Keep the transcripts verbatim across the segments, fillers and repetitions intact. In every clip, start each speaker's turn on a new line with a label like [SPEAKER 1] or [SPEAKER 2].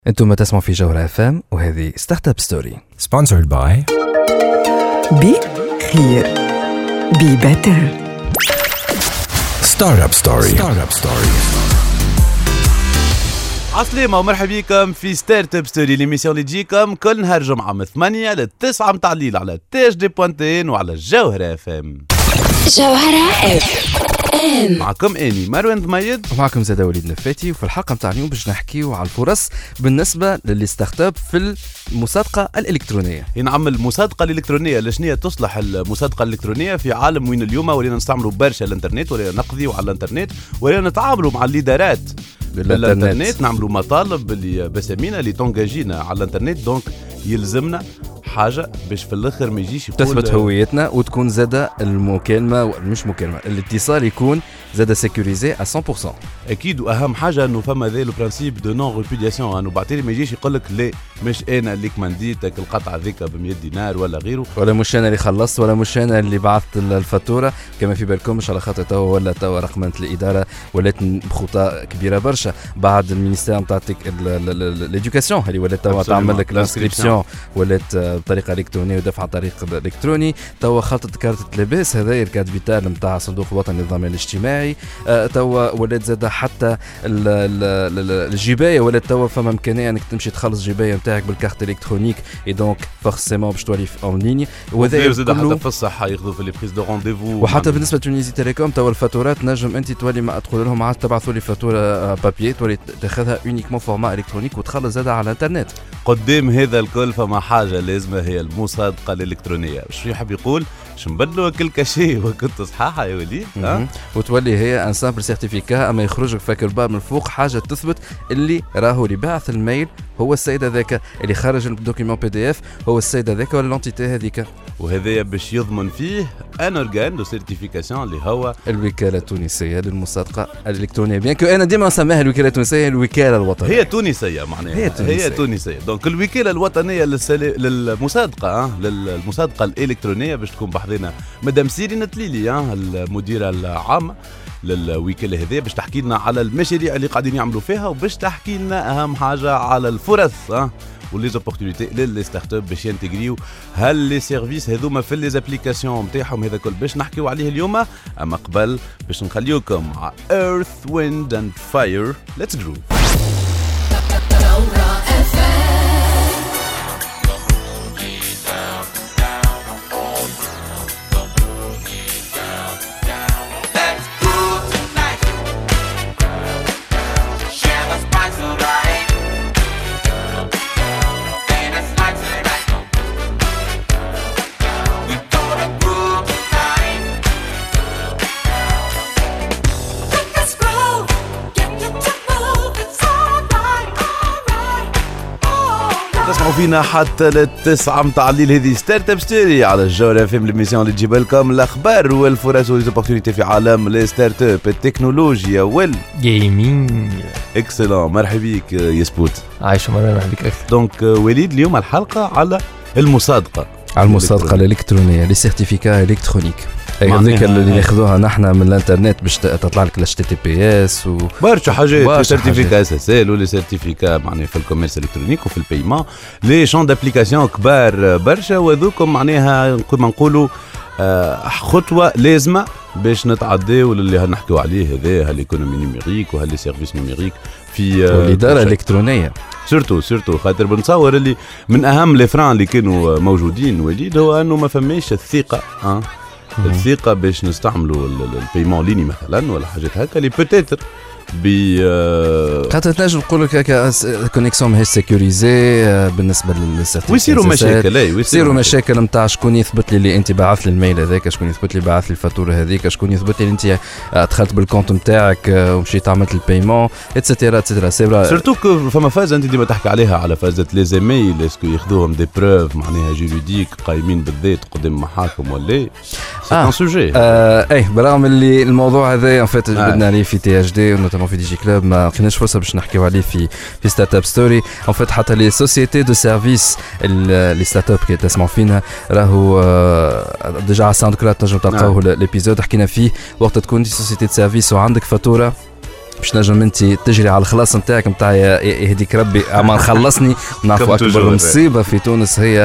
[SPEAKER 1] انتم تسمعوا في جوهرة اف ام وهذه ستارت اب ستوري
[SPEAKER 2] sponsored by
[SPEAKER 3] بي خير بي بيتر
[SPEAKER 2] ستارت اب ستوري ستارت اب ستوري.
[SPEAKER 4] عسلامة ومرحبا بكم في ستارت اب ستوري، ليميسيون اللي تجيكم كل نهار جمعة من ثمانية للتسعة متاع الليل على تاج دي بوانتين وعلى جوهرة اف ام.
[SPEAKER 5] جوهرة اف ام
[SPEAKER 4] معكم اني مروان ضميد
[SPEAKER 1] ومعكم زاد وليد نفاتي. وفي الحلقة متاع اليوم باش نحكيو على الفرص بالنسبة للي ستارت اب في المصادقة الإلكترونية.
[SPEAKER 4] نعمل المصادقة الإلكترونية. لشنية تصلح المصادقة الإلكترونية في عالم وين اليوم ولينا نستعملوا برشا الانترنت، ولينا نقضيو على الانترنت، ولينا نتعاملوا مع الليدرات بالانترنت، نعملوا مطالب اللي بسامينا اللي تونجاجينا على الانترنت. دونك يلزمنا حاجة باش في الاخر ما يجيش يقول
[SPEAKER 1] تثبت هويتنا وتكون زادة المكالمة مش مكالمة الاتصال يكون زادة سيكوريزي على مية بالمية.
[SPEAKER 4] اكيد، واهم حاجة انه فما ذا لو برانسيب دو نون ريبودياسيون، انه بعتلي ما يجيش يقول لك لا مش انا اللي كمنديتك القطعة ذيك ب مية دينار ولا غيره،
[SPEAKER 1] ولا مش انا اللي خلصت، ولا مش انا اللي بعثت الفاتورة. كما في بالكمش على خاطر توا ولا توا رقمنة الإدارة ولات بخطى كبيرة برشا بعد المينيستير نتاع ليدوكاسيون اللي ولات توا تعمل لك الانسكريبسيون ولات بطريقه الكترونيه ودفع عن طريق الالكتروني. توا خلطت كارت اللباس هذا الكارت فيتال نتاع صندوق الوطني للضمان الاجتماعي. أه توا ولات زاد حتى الجبايه ولات توا فما امكانيه انك تمشي تخلص جبايه نتاعك بالكارت الكترونيك اي دونك فورسيمون باش تولي اون ليني.
[SPEAKER 4] وهذا زاد حتى في الصحه ياخذوا في لي بريز دو رونديفو.
[SPEAKER 1] وحتى بالنسبه لتونيزي تيليكوم توا الفاتورات نجم انت تولي ما تقول لهم عاد تبعثوا لي فاتوره بابيي تولي تاخذها اونيكمون فورما الكترونيك وتخلص زاد على الانترنت.
[SPEAKER 4] قدام هذا الكل فما حاجه لازمه هي المصادقة الإلكترونية. شو يحب يقول؟ شو نبدلوا كل كشيء وكنت صحاحة يا وليد؟ أه؟
[SPEAKER 1] وتولي هي ان سامبل سيرتيفيكا اما يخرجك فاكر باب من فوق حاجة تثبت اللي راهو اللي باعث الميل هو السيد هذاك، اللي خرج الدوكيمون بي دي اف هو السيد هذاك ولا لونتيتي هذيك.
[SPEAKER 4] وهذا باش يضمن فيه ان اورغان دو سيرتيفيكاسيون اللي هو
[SPEAKER 1] الوكالة التونسية للمصادقة الإلكترونية. بيان كو انا ديما نسميها الوكالة التونسية الوكالة الوطنية.
[SPEAKER 4] هي تونسية معناها. هي تونسية. هي تونسية. دونك الوكالة الوطنية للسل... للمصادقة أه؟ للمصادقة الإلكترونية باش تكون بحضنا مدام سيرين تليلي أه؟ المديرة العامة للوكالة هذه باش تحكي لنا على المشاريع اللي قاعدين يعملوا فيها وباش تحكي لنا أهم حاجة على الفرص أه؟ وليزوبورتونيتي للي ستارت اب باش ينتجريو هل لي سيرفيس هذوما في لي زابليكاسيون نتاعهم. هذا كل باش نحكيو عليه اليوم. اما قبل باش نخليوكم مع Earth Wind and Fire. Let's groove. تسمعوا فينا حتى للتسعة متاع الليل. هذه ستارت اب ستوري على الجوهرة اف ام، ليميسيون اللي تجيب لكم الاخبار والفرص وليزوبورتونيتي في عالم لي ستارت اب التكنولوجيا والجيمنج. اكسلون، مرحبا بك يا سبوت.
[SPEAKER 6] عايش مرة مرحبا بك.
[SPEAKER 4] دونك وليد اليوم الحلقة على المصادقة
[SPEAKER 1] على المصادقة الإلكترونية لي سيرتيفيكا إلكترونيك. هذيك اللي ناخذوها نحن من الانترنت باش تطلع لك الاتش تي تي بي اس و
[SPEAKER 4] برشا حاجات، سيرتيفيكا اس اس ال ولا سيرتيفيكا معناها في الكوميرس الكترونيك وفي البيمون، لي شون دابليكاسيون كبار برشا. وذوكم معناها كما نقولوا خطوه لازمه باش نتعداو للي هنحكيو عليه هذا هالايكونومي نيميريك وهاللي سيرفيس نيميريك في
[SPEAKER 1] الاداره الالكترونيه.
[SPEAKER 4] سورتو سورتو خاطر بنتصور اللي من اهم لي فران اللي كانوا موجودين وليد هو انه ما فماش الثقه أه؟ الثقة باش نستعملوا البيمون ليني مثلا ولا حاجات هكا اللي بوتيتر بي
[SPEAKER 1] خاطر تنجم نقول لك هكا كونيكسيون ماهيش سيكوريزي بالنسبه للسيرتيفيكات
[SPEAKER 4] ويصيروا مشاكل. اي
[SPEAKER 1] ويصيروا مشاكل نتاع شكون يثبت لي اللي انت بعث لي الميل هذاك، شكون يثبت لي بعث لي الفاتوره هذيك، شكون يثبت لي انت دخلت بالكونت نتاعك ومشيت عملت البيمون اتسيتيرا اتسيتيرا. سي
[SPEAKER 4] سورتو فما فاز انت ديما تحكي عليها على فازه لي زيميل اسكو ياخذوهم دي بروف معناها جوريديك قايمين بالذات قدام محاكم ولا سي ان سوجي.
[SPEAKER 1] اي برغم اللي الموضوع هذا ان فيت جبدنا عليه في تي اتش دي نوتامون في دي جي كلوب ما خدناش فرصه باش نحكيو عليه في في ستارت اب ستوري. ان فيت حتى لي سوسيتي دو سيرفيس لي ستارت اب كي تسمعوا فينا راهو ديجا على ساوند كلاود تنجم تلقاوه الابيزود حكينا فيه وقت تكون دي سوسيتي دو سيرفيس وعندك فاتوره باش نجم انت تجري على الخلاص نتاعك نتاع يهديك ربي اما خلصني. نعرفوا اكبر مصيبه في تونس هي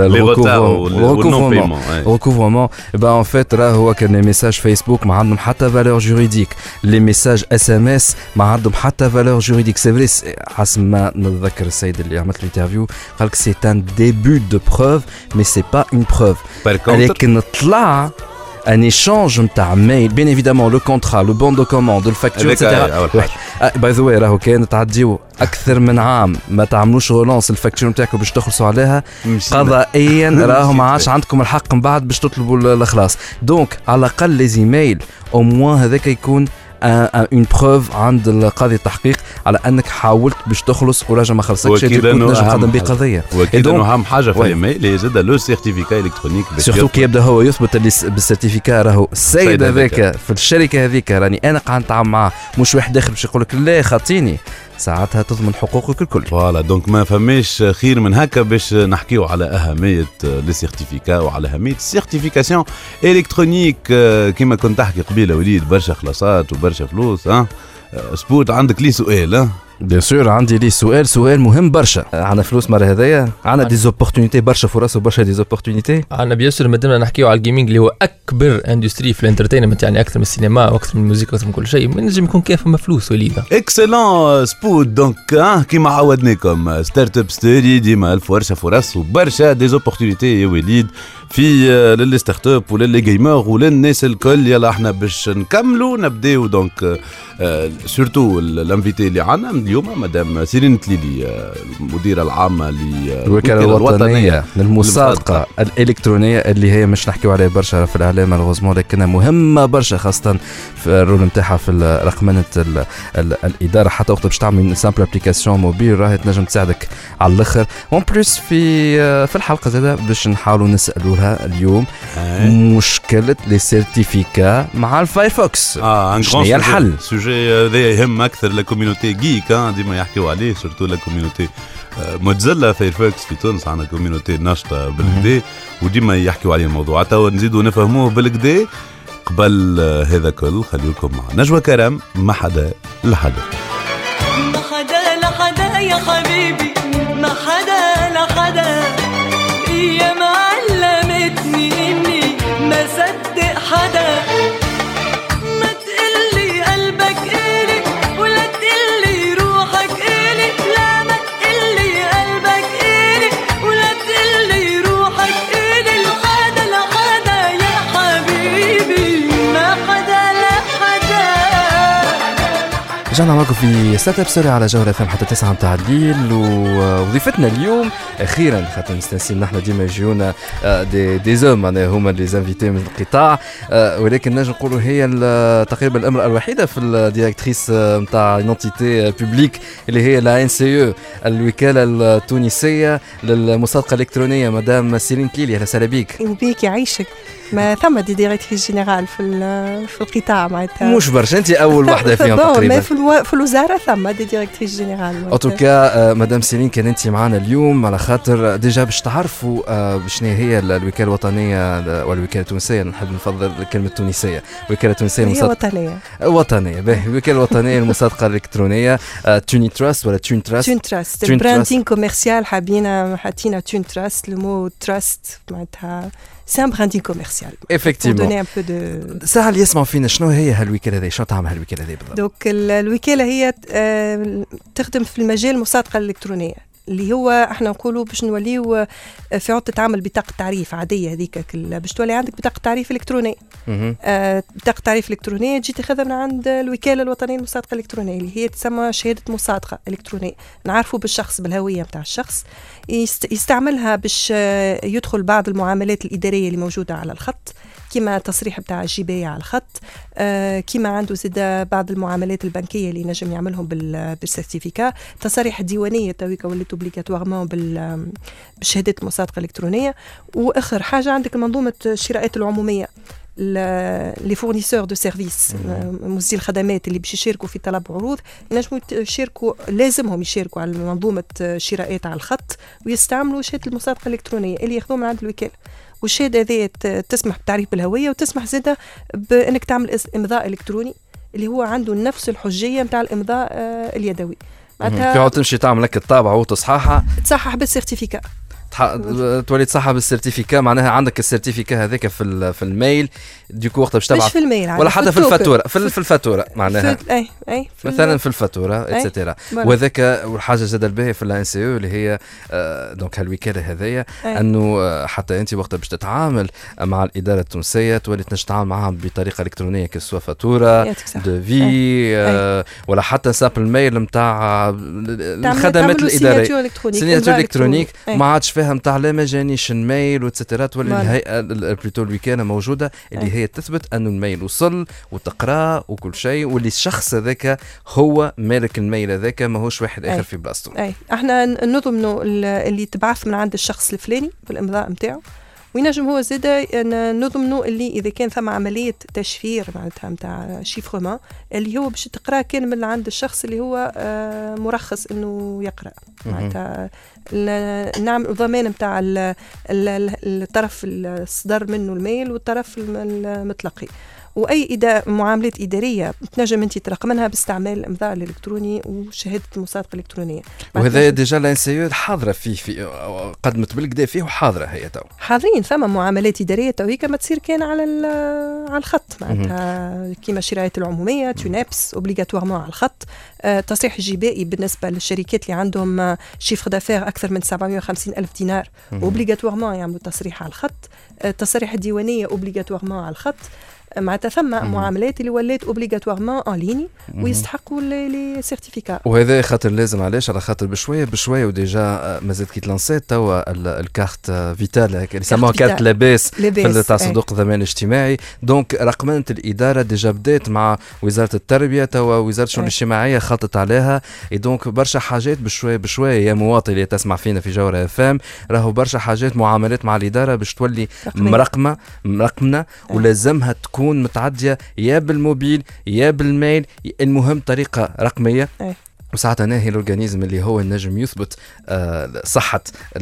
[SPEAKER 1] الريكوفرمون. با ان فيت راه هو كان لي ميساج فيسبوك ما عندهم حتى فالور جوريديك، لي ميساج اس ام اس ما عندهم حتى فالور جوريديك. سي فري حسب ما نتذكر السيد اللي عملت له انترفيو قال لك سي ان ديبut دو بروف مي سي با اون بروف. لكن طلع un échange نتاع ميل بين évidemment le contrat le bon de commande le facture et cetera. باي ذا واي راهو كان تعديو اكثر من عام ما تعملوش رولانس الفاكتور نتاعكم باش تخلصوا عليها قضائيا راهو ما عادش عندكم الحق من بعد باش تطلبوا الخلاص. دونك على الاقل لي زيميل او موان هذاك يكون اون بروف عند القاضي التحقيق على انك حاولت باش تخلص وراجع ما خلصكش تكون تنجم تقدم به قضيه.
[SPEAKER 4] واكيد انه اهم حاجه في الايميل هي زاد لو سيرتيفيكا الكترونيك
[SPEAKER 1] سورتو كي يبدا هو يثبت اللي بالسيرتيفيكا راهو السيد هذاك في الشركه هذيك راني انا قاعد نتعامل معاه مش واحد داخل باش يقول لك لا خاطيني ساعتها تضمن حقوقك الكل.
[SPEAKER 4] فوالا دونك ما فماش خير من هكا باش نحكيو على أهمية لي سيرتيفيكا وعلى أهمية السيرتيفيكاسيون إلكترونيك. كما كنت تحكي قبيله وليد برشا خلاصات وبرشا فلوس. ها سبوت عندك لي سؤال؟ ها
[SPEAKER 1] بيان سور عندي لي سؤال سؤال مهم برشا. عندنا فلوس مرة هذايا، عندنا دي زوبورتونيتي برشا فرص وبرشا دي زوبورتونيتي.
[SPEAKER 6] عندنا بيان سور مادامنا نحكيو على الجيمنج اللي هو اكبر اندستري في الانترتينمنت، يعني اكثر من السينما واكثر من الموسيقى واكثر من كل شيء، ما نجم يكون كيف ما فلوس وليده.
[SPEAKER 4] اكسلون سبوت. دونك كيما عودناكم ستارت اب ستوري ديما الف ورشا فرص وبرشا دي زوبورتونيتي يا وليد في للي ستارت اب وللي جيمر وللناس الكل. يلا احنا باش نكملوا نبداو. دونك سورتو الانفيتي اللي عندنا اليوم مدام سيرين تليلي المديره العامه
[SPEAKER 1] للوكاله الوطنيه للمصادقه الالكترونيه اللي هي مش نحكيو عليها برشا في الاعلام مالغوزمون، لكنها مهمه برشا خاصه في الرول نتاعها في رقمنه الاداره. حتى وقت باش تعمل سامبل ابليكاسيون موبيل راهي تنجم تساعدك على الاخر. اون بليس في في الحلقه زاده باش نحاولوا نسالوها اليوم مشكله لي سيرتيفيكا مع الفايرفوكس.
[SPEAKER 4] اه
[SPEAKER 1] شنو هي الحل؟
[SPEAKER 4] سوجي هذا يهم اكثر لا كوميونيتي جيك ديما يحكيو عليه، سورتو لا كوميونيتي متزله فايرفوكس في تونس. عندنا كوميونيتي ناشطه بالكدا وديما يحكيو عليه الموضوع. تو نزيدوا نفهموه بالكدا. قبل هذا كل خليكم مع نجوى كرم ما حدا لحدا.
[SPEAKER 7] ما حدا لحدا يا حبيبي، ما حدا لحدا. هي ما علمتني اني ما صدق حدا. ما تقلي قلبك إلي ولا تقلي روحك إلي. لا ما تقلي قلبك إلي ولا تقلي روحك إلي. لحدا لحدا يا حبيبي، ما حدا لحدا.
[SPEAKER 1] رجعنا معكم في ستارت اب ستوري على جوهرة اف ام حتى تسعة متاع الليل. ووظيفتنا اليوم اخيرا خاطر مستنسين نحن ديما يجيونا دي دي زوم معناها هما اللي زانفيتي من القطاع، ولكن نجم نقولوا هي تقريبا الامراه الوحيده في الديريكتريس نتاع ايدنتيتي بوبليك اللي هي لا ان سي او الوكاله التونسيه للمصادقه الالكترونيه. مدام سيرين تليلي اهلا وسهلا بك.
[SPEAKER 8] وبيك يعيشك. ما ثم دي ديريكتريس جينيرال في في القطاع معناتها
[SPEAKER 1] مش برشا انت اول وحده فيهم تقريبا.
[SPEAKER 8] في, الو... في الوزاره ثم دي ديريكتريس جينيرال.
[SPEAKER 1] ان توكا مدام سيرين كان انت معنا اليوم على خاطر ديجا باش تعرفوا شنو هي الوكاله الوطنيه والوكاله التونسيه. نحب نفضل الكلمه التونسيه، الوكاله التونسيه
[SPEAKER 8] للمصادقه وطنيه
[SPEAKER 1] وطنيه باهي الوكاله الوطنيه للمصادقه الالكترونيه. توني تراست ولا تون تراست؟
[SPEAKER 8] تون تراست براندين كوميرسيال. حابين حاطين تون تراست. لو مو تراست معناتها c'est un branding commercial.
[SPEAKER 1] Effectivement.
[SPEAKER 8] Pour donner un peu de...
[SPEAKER 1] سهل يسمعوا فينا شنو هي هالوكالة هذه، شنو تعمل هالوكالة هذه بالضبط؟
[SPEAKER 8] دوك الوكالة هي تخدم في المجال المصادقة الإلكترونية اللي هو احنا نقولوا باش نوليو في عود تتعامل بطاقة تعريف عادية هذيك باش تولي عندك بطاقة تعريف إلكترونية. آه بطاقة تعريف إلكترونية تجي تاخذها من عند الوكالة الوطنية للمصادقة الإلكترونية اللي هي تسمى شهادة مصادقة إلكترونية. نعرفوا بالشخص بالهوية متاع الشخص يستعملها باش يدخل بعض المعاملات الإدارية اللي موجودة على الخط كما تصريح بتاع الجباية على الخط. آه كما عنده زيدا بعض المعاملات البنكية اللي نجم يعملهم بالسيرتيفيكا. تصاريح ديوانية تويكا ولات اوبليغاتوارمون بالشهادة المصادقة الإلكترونية. وآخر حاجة عندك منظومة الشراءات العمومية لي فورنيسور دو سيرفيس موزي الخدمات اللي باش يشاركوا في طلب عروض ينجموا يشاركوا، لازمهم يشاركوا على منظومة شراءات على الخط ويستعملوا شهادة المصادقة الإلكترونية اللي ياخذوها من عند الوكالة. والشهادة هذه تسمح بتعريف بالهوية وتسمح زيادة بأنك تعمل إمضاء إلكتروني اللي هو عنده نفس الحجيه نتاع الامضاء آه اليدوي.
[SPEAKER 1] معناتها تمشي تعمل لك الطابعه وتصححها
[SPEAKER 8] تصحح بالسيرتيفيكا،
[SPEAKER 1] تولي تصحح بالسيرتيفيكا. معناها عندك السيرتيفيكا هذاك في في الميل ديكو وقت باش تبعث،
[SPEAKER 8] مش في الميل
[SPEAKER 1] ولا حتى في الفاتوره، في, في الفاتوره معناها
[SPEAKER 8] في اي اي في
[SPEAKER 1] مثلا في الفاتوره اتسيتيرا. وهذاك والحاجه زاد الباهيه في الان سي او اللي هي آه دونك هالوكاله هذيا انه آه حتى انت وقت باش تتعامل مع الاداره التونسيه تولي تنجم تتعامل معها بطريقه الكترونيه كسوا فاتوره دو في آه ولا حتى ساب الميل نتاع الخدمات الاداريه سيناتور الكترونيك ما عادش فاهم تاع لا ما جانيش الميل واتسيتيرا. تولي الهيئه بلوتو الوكاله موجوده اللي هي تثبت انه الميل وصل وتقراه وكل شيء، واللي الشخص هذاك هو مالك الميل هذاك ماهوش واحد اخر في بلاصتو.
[SPEAKER 8] اي احنا نضمنوا اللي تبعث من عند الشخص الفلاني بالامضاء نتاعو، وينجم هو زاد نضمنوا اللي اذا كان ثم عمليه تشفير معناتها نتاع شيفرمان اللي هو باش تقرا كان من عند الشخص اللي هو مرخص انه يقرا. معناتها نعمل ضمان نتاع الطرف الصدر منه الميل والطرف المتلقي. واي إدا معاملات اداريه تنجم انت ترقمنها باستعمال الامضاء الالكتروني وشهاده المصادقه الالكترونيه. وهذا
[SPEAKER 1] ديجا لان سي او حاضره فيه في قدمت بالكدا فيه وحاضره هي تو
[SPEAKER 8] حاضرين. ثم معاملات اداريه تويكا ما تصير كان على على الخط معناتها كيما الشرايط العموميه تونابس اوبليغاتوارمون على الخط. آه تصريح الجبائي بالنسبه للشركات اللي عندهم شيفر دافير اكثر من سبعمائة وخمسين الف دينار اوبليغاتوارمون يعملوا تصريح على الخط. آه تصريح الديوانيه اوبليغاتوارمون على الخط. معناتها ثم معاملات اللي ولات اوبليغاتوارمون ان ليني ويستحقوا لي سيرتيفيكا.
[SPEAKER 1] وهذا خاطر لازم علاش على خاطر بشويه بشويه وديجا مازال كي تلانسيت توا الكارت فيتال اللي يسموها كارت لاباس في تاع صندوق الضمان الاجتماعي. دونك رقمنه الاداره ديجا بدات مع وزاره التربيه، توا وزاره الشؤون الاجتماعيه خلطت عليها. دونك برشا حاجات بشويه بشويه يا مواطن اللي تسمع فينا في جوهره اف ام راهو برشا حاجات معاملات مع الاداره باش تولي مرقمه مرقمنه ولازمها تكون متعدية يا بالموبيل يا بالميل، المهم طريقة رقمية. أي. وساعتها ناهي الأورجانيزم اللي هو النجم يثبت آه صحة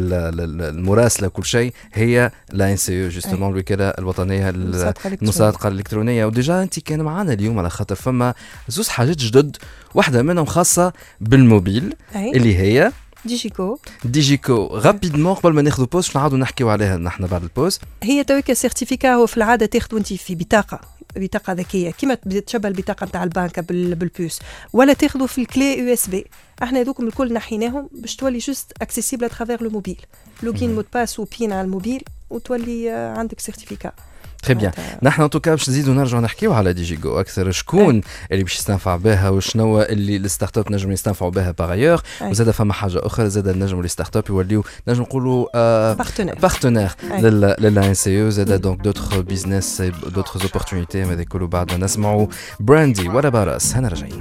[SPEAKER 1] المراسلة وكل شيء هي لا ان سي او جوستومون الوكالة الوطنية للمصادقة الإلكترونية. وديجا أنت كان معنا اليوم على خاطر فما زوز حاجات جدد، واحدة منهم خاصة بالموبيل. أي. اللي هي
[SPEAKER 8] ديجيكو.
[SPEAKER 1] ديجيكو غابيدمون قبل ما ناخذ بوز نعاودوا نحكيوا عليها نحن بعد البوز.
[SPEAKER 8] هي تويكا سيرتيفيكا هو في العاده تاخذوا انت في بطاقه بطاقه ذكيه كيما تشبه البطاقه نتاع البنك بالبوس، ولا تاخذوا في الكلي يو اس بي. احنا هذوكم الكل نحيناهم باش تولي جوست اكسيسيبل اترافير لو موبيل، لوغين مود باس وبين على الموبيل وتولي عندك سيرتيفيكا.
[SPEAKER 1] تري بيان. نحن ان توكا باش نزيدوا نرجعوا نحكيو على ديجيكو اكثر، شكون أي. اللي باش يستنفع بها وشنو اللي الستارت اب نجم يستنفعوا بها باغيور. وزاد فما حاجه اخرى زاد نجموا لي ستارت اب يوليو نجم نقولوا بارتنير لل ان سي او. زاد دونك دوتر بيزنس دوتر اوبورتونيتي هذا كله بعد ما نسمعوا براندي ولا باراس. هنا رجعنا.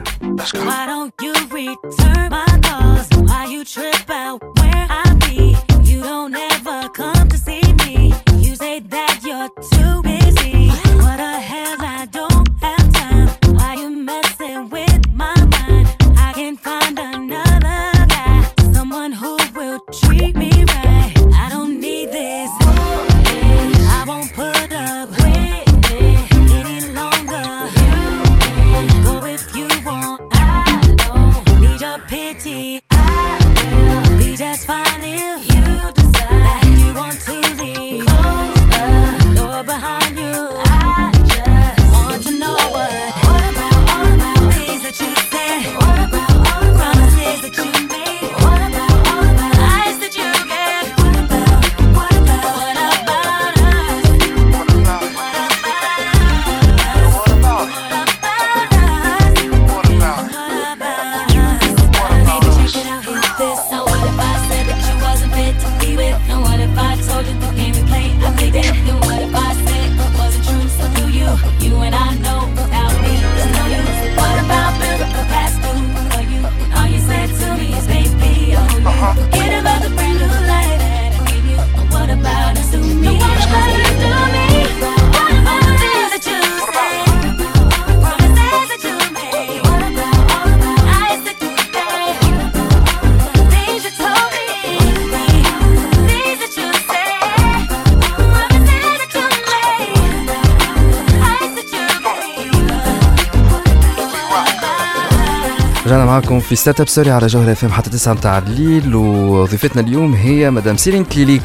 [SPEAKER 1] What the hell, I don't have time. Why you messing with my mind? I can find another guy, someone who will treat me right. I don't need this. I won't put up with it any longer. Go if you want. I don't need your pity. I رجعنا معكم في ستارت اب ستوري على جوهر اف ام حتى تسعة متاع الليل، وضيفتنا اليوم هي مدام سيرين كليلي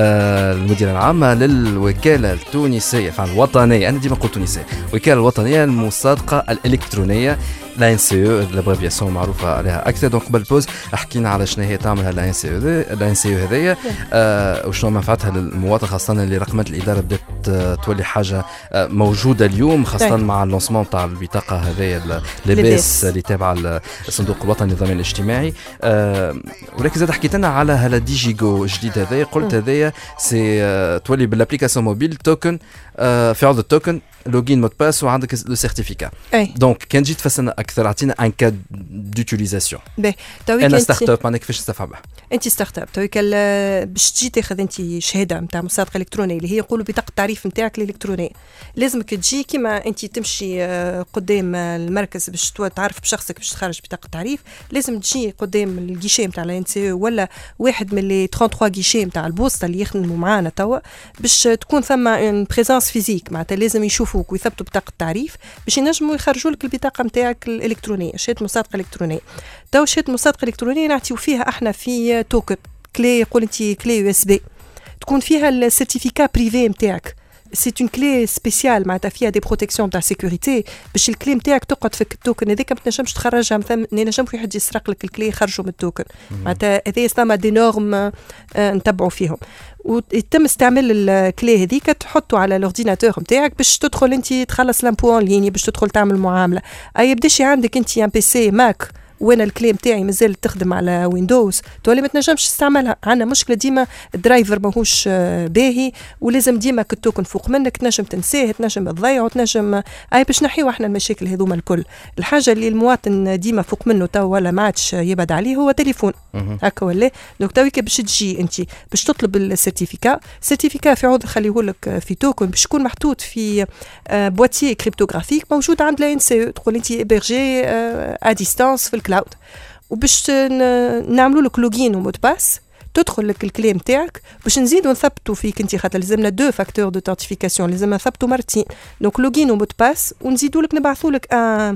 [SPEAKER 1] آه المديرة العامة للوكالة التونسية فعلا الوطنية، أنا ديما نقول تونسية، الوكالة الوطنية للمصادقة الإلكترونية لا ان سي او، الابريفياسيون معروفة عليها أكثر. دونك قبل البوز حكينا على شنو هي تعملها لا ان سي او لا ان سي او هذيا آه وشنو منفعتها للمواطن، خاصة اللي رقمات الإدارة بدأت تولي حاجة موجودة اليوم، خاصة مع اللونسمون تاع البطاقة هذيا لباس اللي تابعة الصندوق الوطني للضمان الاجتماعي. أه ولكن زاد حكيت لنا على هلا دي جي جو جديد هذايا، قلت هذايا سي أه تولي بالابليكاسيون موبيل توكن أه في عوض التوكن لوجين مود باس وعندك لو سيرتيفيكا. دونك كان جيت تفسرنا اكثر، اعطينا ان كاد دوتيليزاسيون.
[SPEAKER 8] باهي
[SPEAKER 1] انا ستارت اب معناها كيفاش تستفعل بها؟
[SPEAKER 8] انت ستارت اب تويك باش تجي تاخذ انت شهاده نتاع مصادقه الكترونيه اللي هي يقولوا بطاقه التعريف نتاعك الالكترونيه، لازمك تجي كيما انت تمشي قدام المركز باش تعرف بشخصك باش تخرج بطاقه التعريف، لازم تجي قدام الجيشي نتاع الان سي او ولا واحد من لي ثلاثة وثلاثين جيشي نتاع البوسطه اللي يخدموا معانا توا باش تكون ثم ان بريزونس فيزيك، معناتها لازم يشوفوك ويثبتوا بطاقه التعريف باش ينجموا يخرجوا لك البطاقه نتاعك الالكترونيه، شهاده مصادقه الكترونيه. تو شهاده مصادقه الكترونيه نعطيو فيها احنا في توكن كلي، يقول انت كلي يو اس بي تكون فيها السيرتيفيكا بريفي نتاعك، سي اون كلي سبيسيال معناتها فيها دي بروتيكسيون تاع سيكوريتي باش الكلي نتاعك تقعد في التوكن هذيك ما تنجمش تخرجها، مثلا ينجم في حد يسرق لك الكلي يخرجوا من التوكن، معناتها هذه ثما دي نورم نتبعوا فيهم، ويتم استعمال الكلي هذيك تحطه على الاورديناتور نتاعك باش تدخل انت تخلص لامبو اون ليني باش تدخل تعمل معامله. اي يبداش عندك انت ان بي سي ماك وانا الكلي نتاعي مازال تخدم على ويندوز تولي ما تنجمش تستعملها، عندنا مشكله ديما الدرايفر ماهوش باهي ولازم ديما التوكن فوق منك، تنجم تنساه تنجم تضيعه تنجم اي باش نحيو احنا المشاكل هذوما الكل. الحاجه اللي المواطن ديما فوق منه تو ولا ما عادش يبعد عليه هو تليفون هكا ولا دونك تويك باش تجي انت باش تطلب السيرتيفيكا، السيرتيفيكا في عوض خليهولك في توكن باش يكون محطوط في بواتيي كريبتوغرافيك موجود عند لا ان سي او، تقول انت ابيرجي ا ديستانس في الكلاود، وباش نعملوا لك لوجين ومود باس تدخل لك الكليم تاعك باش نزيدوا نثبتوا فيك انت، خاطر لازمنا دو فاكتور دو اثنتيفيكاسيون لازم نثبتوا مرتين، دونك لوجين ومود باس ونزيدوا لك نبعثوا لك ان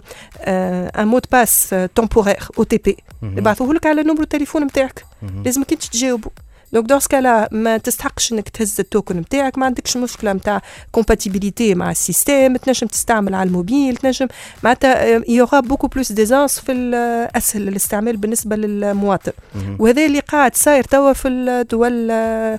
[SPEAKER 8] ان مود باس تمبورير او تي بي نبعثوه لك على نمرو التليفون نتاعك، لازمك انت تجاوبوا. دونك دونس كالا ما تستحقش انك تهز التوكن نتاعك، ما عندكش مشكله نتاع كومباتيبيليتي مع السيستم، تنجم تستعمل على الموبيل، تنجم معناتها يوغا بوكو بلوس ديزانس في الاسهل الاستعمال بالنسبه للمواطن، وهذا اللي قاعد صاير توا في الدول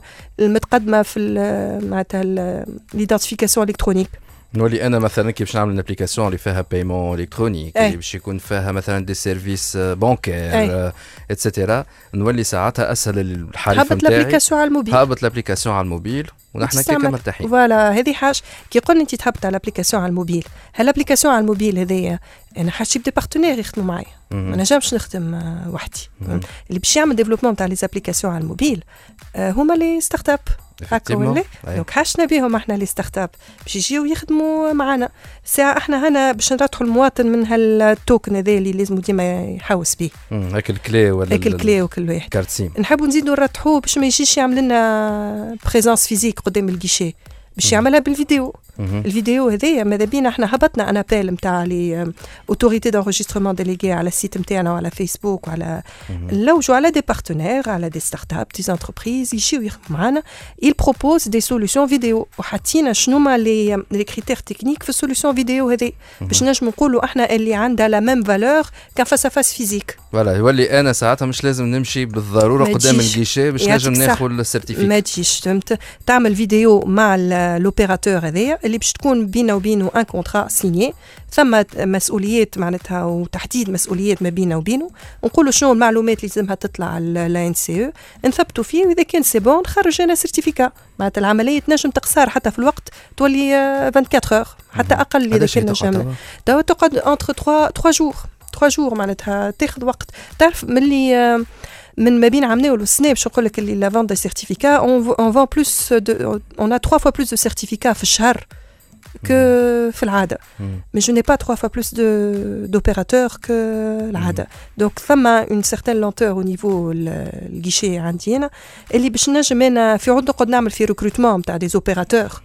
[SPEAKER 8] المتقدمه في معناتها ليدنتيفيكاسيون الكترونيك.
[SPEAKER 1] نولي انا مثلا كي باش نعمل ابليكاسيون اللي فيها بايمون الكترونيك اللي باش يكون فيها مثلا دي سيرفيس بانكير اتسيتيرا، نولي ساعتها اسهل الحريف نتاعي
[SPEAKER 8] هبط الابليكاسيون على الموبيل،
[SPEAKER 1] هبط الابليكاسيون على الموبيل ونحن كيف مرتاحين.
[SPEAKER 8] فوالا هذه حاجه كي قلنا انت تهبط على الابليكاسيون على الموبيل، هالابليكاسيون على الموبيل هذيا انا حاجه بدي بارتنير يخدموا معايا، ما نجمش نخدم وحدي. اللي باش يعمل ديفلوبمون تاع لي زابليكاسيون على الموبيل هما لي ستارت اب هكا ولا دونك حاشنا بهم احنا لي ستارت اب باش يجيو يخدموا معنا ساعه احنا هنا باش نرتحوا المواطن من هالتوكن هذا اللي لازم ديما يحوس به
[SPEAKER 1] هاك الكلي ولا
[SPEAKER 8] هاك الكلي وكل واحد
[SPEAKER 1] كارت سيم،
[SPEAKER 8] نحبوا نزيدوا نرتحوه باش ما يجيش يعمل لنا بريزونس فيزيك قدام الجيشي، باش يعملها بالفيديو. الفيديو هذايا ماذا بينا احنا هبطنا انا بال نتاع لي اوتوريتي دانجسترمون ديليغي على السيت نتاعنا وعلى فيسبوك وعلى نلوجوا على دي بارتنير على دي ستارت اب دي انتربريز يجيو يخدموا معنا، il propose des solutions فيديو وحاطين شنو ما لي لي كريتير تكنيك في السوليوشن فيديو هذه باش نجم نقولوا احنا اللي عندها لا ميم فالور كان فاس فاس فيزيك.
[SPEAKER 1] فوالا يولي انا ساعتها مش لازم نمشي بالضروره قدام الجيشي باش نجم ناخذ السيرتيفيكات، ما
[SPEAKER 8] تجيش فهمت تعمل فيديو مع الاوبيراتور هذايا اللي باش تكون بينه وبينه ان كونترا سينيي، ثم مسؤوليات معناتها وتحديد مسؤوليات ما بينه وبينه، ونقولوا شنو المعلومات اللي لازمها تطلع على لا ان سي او نثبتوا فيه، واذا كان سي بون نخرج انا سيرتيفيكا، معناتها العمليه تنجم تقصر حتى في الوقت تولي أربعة وعشرين اور حتى اقل اذا كان نجم توا تقعد انتر ثلاثة جور ثلاثة جور معناتها تاخذ وقت. تعرف ملي من ما بين عامنا والسنه باش نقول لك اللي لا فون دي سيرتيفيكا اون فون بلوس اون ا ثلاثة فوا بلوس دو سيرتيفيكا في الشهر que في العادة. Mais je n'ai pas trois fois plus de d'opérateurs que العادة. Donc ثم une certaine lenteur au niveau الجيشي عندي أنا اللي باش نجم أنا في عود نقعد نعمل في recrutement نتاع des opérateurs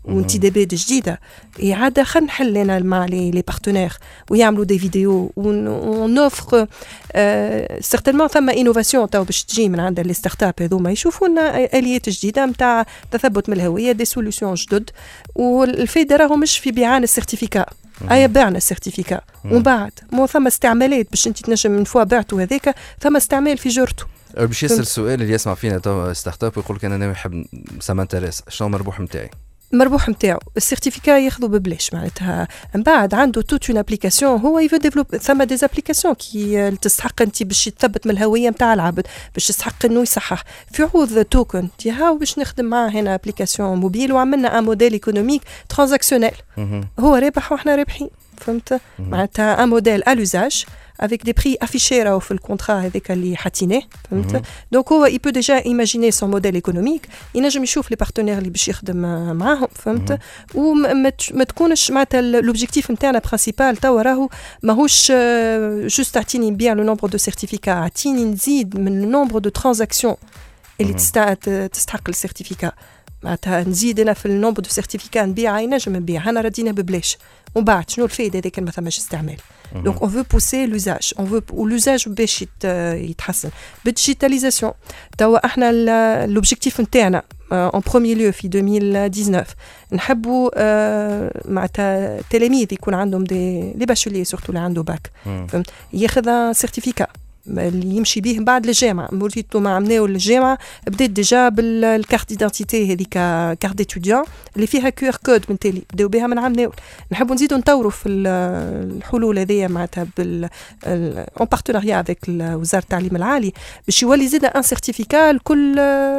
[SPEAKER 8] وانتدابات جديده اعاده خلينا نحل لنا مع لي لي بارتنير ويعملوا دي فيديو ونوفر سيغتينمون ثم انوفاسيون تو باش تجي من عند لي ستارت اب هذوما يشوفوا لنا اليات جديده نتاع تثبت من الهويه دي سوليوشن جدد والفايده راهو مش في بيعان السيرتيفيكا اي بعنا السيرتيفيكا ومن بعد مو ثم استعمالات باش انت تنجم من فوا بعته هذاك ثم استعمال في جرته
[SPEAKER 1] باش يسال السؤال اللي يسمع فينا تو ستارت اب ويقول لك انا ناوي نحب سما انتريس شنو المربوح نتاعي
[SPEAKER 8] المربوح نتاعو السيرتيفيكا ياخذوا ببلاش معناتها من بعد عنده توت اون ابليكاسيون هو يفو ديفلوب ثم دي ابليكاسيون كي تستحق انت باش تثبت من الهويه نتاع العبد باش تستحق انه يصحح في عوض توكن تي هاو باش نخدم معاه هنا ابليكاسيون موبيل وعملنا ان موديل ايكونوميك ترانزاكسيونيل هو رابح واحنا رابحين فهمت معناتها ان موديل ا لوزاج avec des prix affichés راهو في الكونترا هذاك اللي حاطينه فهمت دونك هو il peut déjà imaginer son modèle économique ينجم يشوف لي بارتنير اللي باش يخدم معاهم فهمت وما تكونش معناتها لوبجيكتيف نتاعنا برينسيبال توا راهو ماهوش جوست اعطيني نبيع لو نومبر دو سيرتيفيكا اعطيني نزيد من لو نومبر دو ترانزاكسيون اللي تستحق السيرتيفيكا معناتها نزيد انا في النومبر دو سيرتيفيكا نبيع ينجم نبيع انا ردينا ببلاش ومن بعد شنو الفايده اذا كان ما ثماش استعمال دونك اون فو بوسي لوزاج اون فو ولوزاج باش يتحسن بالديجيتاليزاسيون توا احنا لوبجيكتيف نتاعنا اون بروميير لو في ألفين وتسعطاش نحبوا معناتها تلاميذ يكون عندهم دي لي باشولي سورتو اللي عنده باك فهمت ياخذ سيرتيفيكا اللي يمشي به بعد الجامعه موليتو ما عملناو الجامعه بدات ديجا بالكارت ديدانتيتي هذيك كارت ديتوديون اللي فيها كيو ار كود من تالي بداو بها من عملناو نحبوا نزيدوا نطوروا في الحلول هذيا معناتها بال اون بارتناريا افيك وزاره التعليم العالي باش يولي زيد ان سيرتيفيكا لكل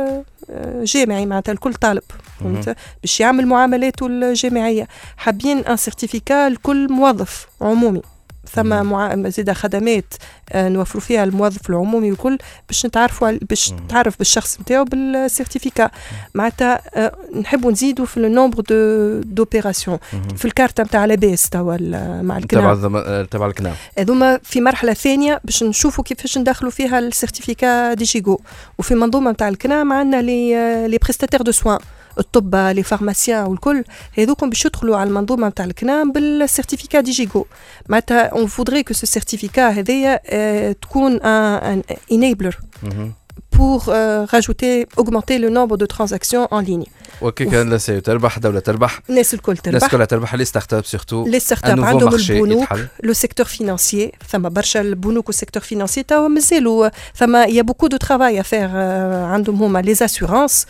[SPEAKER 8] جامعي معناتها لكل طالب فهمت باش يعمل معاملاته الجامعيه حابين ان سيرتيفيكا لكل موظف عمومي ثم مع... زيادة خدمات آه نوفروا فيها الموظف العمومي وكل باش نتعرفوا باش تعرف بالشخص نتاعو بالسيرتيفيكا معناتها آه نحبوا نزيدوا في النومبر دو دوبيراسيون في الكارت نتاع لاباس توا مع الكنام
[SPEAKER 1] تبع تبع الكنام
[SPEAKER 8] هذوما في مرحله ثانيه باش نشوفوا كيفاش ندخلوا فيها السيرتيفيكا ديجيغو وفي منظومه نتاع الكنام عندنا لي لي بريستاتير دو سوان الطب لي فارماسيان والكل هذوكم باش يدخلوا على المنظومه نتاع الكنام بالسيرتيفيكا ديجيغو معناتها اون فودري كو سو سيرتيفيكا هذيا اه تكون ان انيبلر pour euh, rajouter, augmenter le nombre de transactions en ligne.
[SPEAKER 1] وكي كان لا سي تربح دولة تربح
[SPEAKER 8] الناس الكل تربح
[SPEAKER 1] الناس كلها تربح لي ستارت اب سورتو
[SPEAKER 8] لي ستارت اب عندهم البنوك لو سيكتور فينانسيي ثم برشا البنوك والسيكتور فينانسيي توا مازالوا ثم يا بوكو دو ترافاي افير عندهم هما لي اسيورانس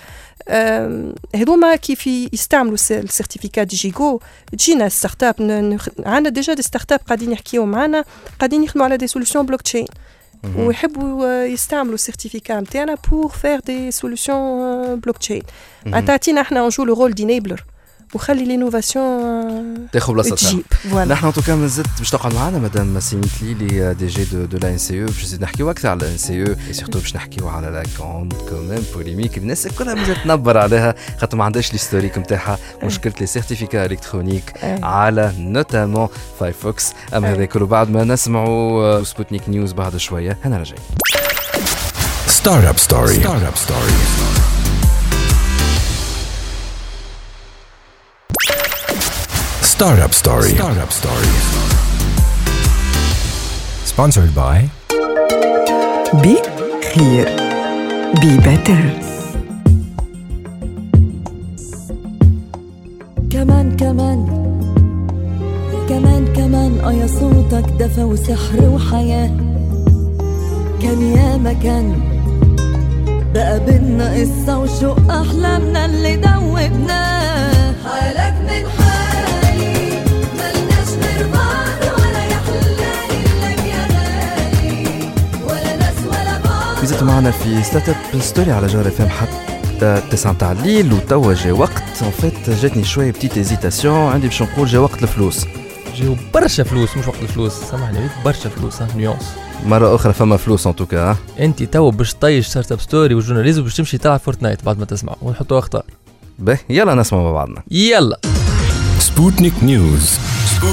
[SPEAKER 8] هذوما كيف يستعملوا السيرتيفيكا ديجيغو تجينا ستارت اب عندنا ديجا دي ستارت اب قاعدين يحكيوا معنا قاعدين يخدموا على دي سوليوشن بلوك تشين ويحبوا يستعملوا السيرتيفيكا نتاعنا بور فير دي سوليوشن بلوك تشين عطاتينا احنا نجو لو رول دينيبلر وخلي لينوفاسيون
[SPEAKER 1] تاخذ بلاصتها
[SPEAKER 8] نحن
[SPEAKER 1] ان توكا مازلت باش تقعد معنا مدام سيميتلي لي دي جي دو دو لا ان سي او باش نحكيو اكثر على الان سي او اي سورتو باش نحكيو على لا كوند كوميم بوليميك الناس كلها مازالت تنبر عليها خاطر ما عندهاش الهيستوريك نتاعها مشكله لي سيرتيفيكا الكترونيك على نوتامون فايرفوكس اما هذا كله بعد ما نسمعوا سبوتنيك نيوز بعد شويه هنا راجعين
[SPEAKER 2] ستارت اب ستوري ستارت اب ستوري Startup Story. Startup Story. Sponsored by
[SPEAKER 3] Be Clear. Be Better.
[SPEAKER 9] كمان كمان كمان كمان اه يا صوتك دفى وسحر وحياة كان يا مكان بقى بينا قصة وشوق أحلامنا اللي دوبناه حالك من حالي ملناش غير بعض ولا يحلالي لك يا غالي ولا ناس ولا بعض
[SPEAKER 1] فيزت معنا في ستارت اب ستوري على جوهر اف ام حتى تسعة متاع الليل وتوا جا وقت ان فيت جاتني شويه بتيت هيزيتاسيون عندي باش نقول جا وقت الفلوس
[SPEAKER 6] جاو برشا فلوس مش وقت الفلوس سامحني برشا فلوس ها نيونس
[SPEAKER 1] مرة أخرى فما فلوس ان توكا
[SPEAKER 6] أنت تو باش طيش ستارت اب ستوري والجورناليزم باش تمشي تلعب فورتنايت بعد ما تسمع ونحطوا أخطار
[SPEAKER 1] به يلا نسمع مع بعضنا
[SPEAKER 6] يلا
[SPEAKER 2] سبوتنيك نيوز سبوتنيك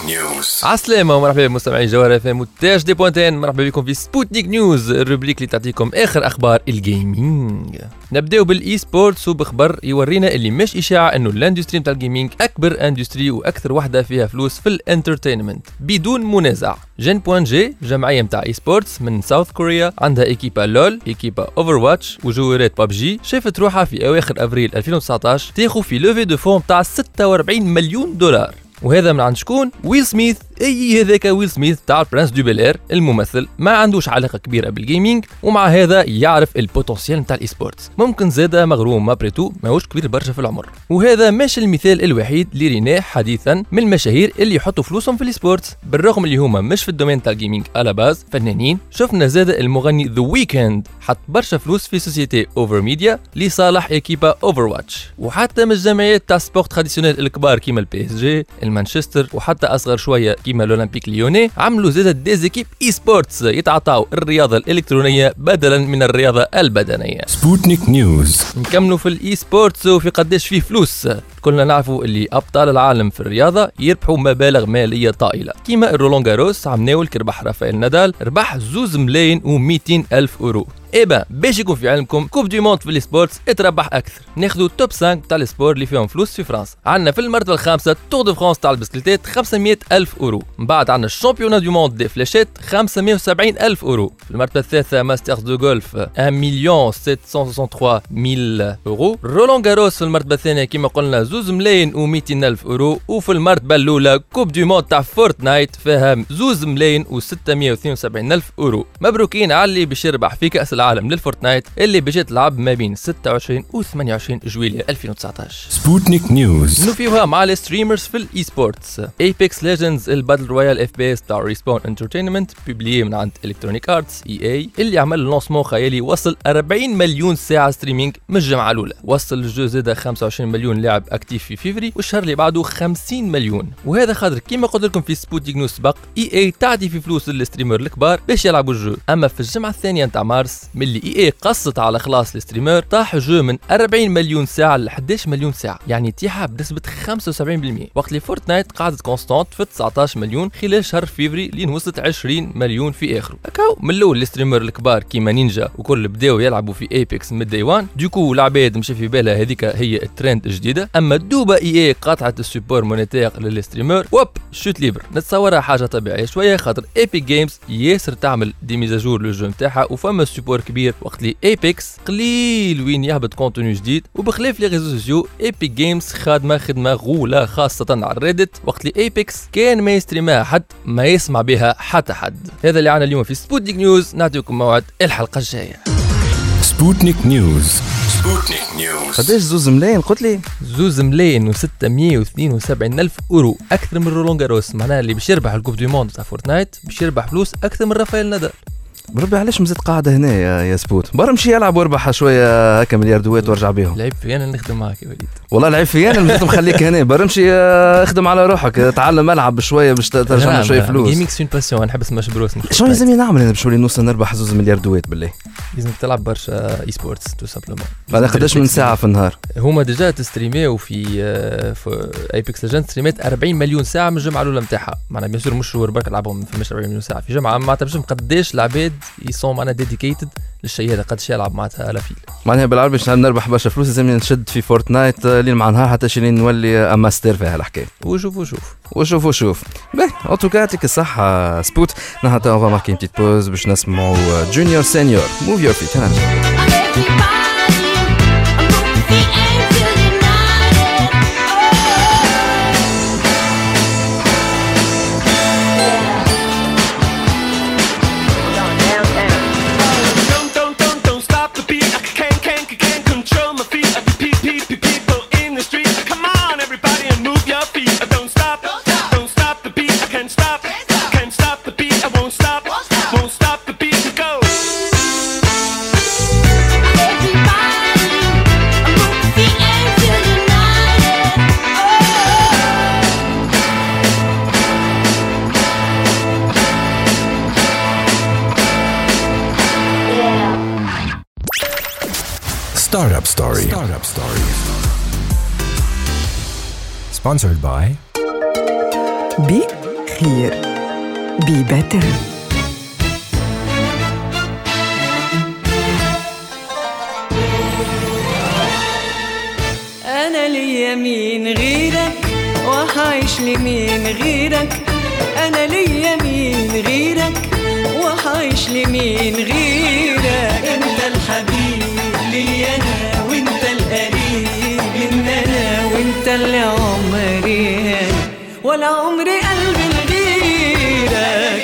[SPEAKER 2] نيوز.
[SPEAKER 6] عسلامة ومرحبا بمستمعي جوهرة اف ام وتاج دي بوانتين. مرحبا بكم في سبوتنيك نيوز، الروبريك اللي تعطيكم اخر اخبار الجيمنج. نبداو بالاي سبورتس وبخبر يورينا اللي مش اشاعه انه الاندستري نتاع الجيمنج اكبر اندستري واكثر وحده فيها فلوس في الانترتينمنت بدون منازع. جين بوان جي جمعيه نتاع اي سبورتس من ساوث كوريا، عندها ايكيبا لول، ايكيبا اوفر واتش وجوارات بابجي، شافت روحها في اواخر افريل ألفين وتسعطاش تاخذ في لوفي دو فون تاع ستة وأربعين مليون دولار. وهذا من عند شكون؟ ويل سميث. اي هذاك ويل سميث تاع برنس دو بيلير الممثل، ما عندوش علاقه كبيره بالجيمنج ومع هذا يعرف البوتنسيال نتاع الاي سبورتس، ممكن زاده مغروم ما بريتو ماهوش كبير برشا في العمر. وهذا مش المثال الوحيد اللي ريناه حديثا من المشاهير اللي يحطوا فلوسهم في الاي سبورتس بالرغم اللي هما مش في الدومين تاع الجيمنج على باز فنانين. شفنا زاده المغني ذا ويكند حط برشا فلوس في سوسيتي اوفر ميديا لصالح ايكيبا اوفر واتش، وحتى من الجمعيات تاع سبورت تراديسيونيل الكبار كيما البي اس جي، المانشستر، وحتى اصغر شويه كيما الاولمبيك ليوني عملوا زاده ديزيكيب اي سبورتس يتعاطاو الرياضه الالكترونيه بدلا من الرياضه البدنيه.
[SPEAKER 2] سبوتنيك نيوز.
[SPEAKER 6] نكملوا في الاي سبورتس وفي قداش فيه فلوس. كلنا نعرفوا اللي ابطال العالم في الرياضه يربحوا مبالغ ماليه طائله، كيما الرولان جاروس عم ناول كربح رافائيل نادال ربح زوز ملايين ومئتين الف اورو. إيبا باش يكون في علمكم كوب دي موند في السبورتس اتربح اكثر. ناخذوا توب خمسة تاع السبور اللي فيهم فلوس في فرنسا. عندنا في المرتبه الخامسه تور دو فرانس تاع البسكليتات خمسمئة الف اورو، من بعد عندنا الشامبيون دو موند دي فلاشات خمسمئة وسبعين الف اورو. في المرتبه الثالثه ماسترز دو غولف واحد مليون سبعمئة وثلاثة وثلاثين ألف اورو. رولان جاروس في المرتبه الثانيه كما قلنا زوز ملايين ومئتين الف اورو. وفي المرتبه الاولى كوب دي موند تاع فورتنايت فيها زوز ملايين وستمئة واثنين وسبعين الف اورو. مبروكين على اللي باش يربح في كاس العالم للفورتنايت اللي باش تلعب ما بين ستة وعشرين و ثمانية وعشرين جويلية ألفين وتسعطاش.
[SPEAKER 2] سبوتنيك نيوز.
[SPEAKER 6] نوفيوها مع الستريمرز في الاي سبورتس. ايبكس ليجندز الباتل رويال اف بي اس تاع ريسبون انترتينمنت بيبليي من عند الكترونيك ارتس اي اي اللي عمل لونسمون خيالي وصل أربعين مليون ساعه ستريمينج من الجمعه الاولى. وصل الجو زاد خمسة وعشرين مليون لاعب اكتيف في فيفري والشهر اللي بعده خمسين مليون. وهذا خاطر كيما قلت لكم في سبوتنيك نيوز سبق اي اي تعطي في فلوس للستريمر الكبار باش يلعبوا الجو. اما في الجمعه الثانيه نتاع مارس ملي اي اي قصت على خلاص الستريمر طاح جو من أربعين مليون ساعه ل إحدى عشر مليون ساعه، يعني تيحه بنسبه خمسة وسبعين بالمئة، وقت اللي فورتنايت قعدت كونستانت في تسعطاش مليون خلال شهر فيفري لين وصلت عشرين مليون في اخره. هكاو من الاول الستريمر الكبار كيما نينجا وكل بداو يلعبوا في ايبكس من داي وان، دوكو العباد مشى في بالها هذيك هي الترند الجديده. اما دوبا اي اي قاطعت السوبور مونيتير للستريمر وب شوت ليبر. نتصورها حاجه طبيعيه شويه خاطر ايبك جيمز ياسر تعمل دي ميزاجور للجو نتاعها وفما سوبور كبير، وقت اللي ايبكس قليل وين يهبط كونتوني جديد. وبخلاف لي ريزو سوسيو ايبك جيمز خادمه خدمه غوله خاصه على الريدت، وقت اللي ايبكس كان ما يستريمها حد ما يسمع بها حتى حد. هذا اللي عنا اليوم في سبوتنيك نيوز، نعطيكم موعد الحلقه الجايه.
[SPEAKER 2] سبوتنيك نيوز. سبوتنيك نيوز.
[SPEAKER 1] قداش زوز ملايين قلت لي؟
[SPEAKER 6] زوز ملايين وستمئة واثنين وسبعين الف اورو، اكثر من رولان جاروس. معناها اللي باش يربح الكوب دو موند تاع فورتنايت باش يربح فلوس اكثر من رافائيل نادال.
[SPEAKER 1] بربي علاش مزيد قاعده هنا يا, يا سبوت؟ برا مشي يلعب واربح شويه هكا ملياردوات وارجع بيهم.
[SPEAKER 6] لعب في انا نخدم معك يا وليد.
[SPEAKER 1] والله لعب في انا مزيد مخليك هنا. برا مشي اخدم على روحك، تعلم العب شويه باش ترجع شويه فلوس.
[SPEAKER 6] جيمينغ سون باسيون، نحب نسمع بروس.
[SPEAKER 1] شنو لازم نعمل انا باش نولي نوصل نربح زوز ملياردوات بالله؟
[SPEAKER 6] لازم تلعب برشا اي سبورتس تو سامبلومون.
[SPEAKER 1] بعد قداش من ساعه في النهار؟
[SPEAKER 6] هما ديجا تستريميو في في ايبكس ليجند ستريمات أربعين مليون ساعه من الجمعه الاولى نتاعها. معناها بيان سور مش شهور برك لعبهم في مش أربعين مليون ساعه في جمعه. ما تعرفش قداش العباد يصوم معنا ديديكيتد للشيء هذا، قداش يلعب معناتها الافيل. معناها
[SPEAKER 1] بالعربي باش نربح برشا فلوس لازم نشد في فورتنايت لين مع نهار حتى شي نولي ماستر في هالحكايه.
[SPEAKER 6] وشوف وشوف
[SPEAKER 1] وشوف وشوف باهي ان توكا يعطيك الصحه سبوت. نحن تو اون ماركي بتيت بوز باش نسمعوا جونيور سينيور موف يور فيت.
[SPEAKER 2] Startup Story. Startup Story. Sponsored by
[SPEAKER 3] بي خير بي باتر.
[SPEAKER 7] أنا لي مين غيرك وحعيش لمين غيرك، أنا لي مين غيرك وحعيش لمين غيرك. أنت الحبيب لي أنا وأنت القريب من أنا وأنت اللي عمري ولا عمري قلبي لغيرك.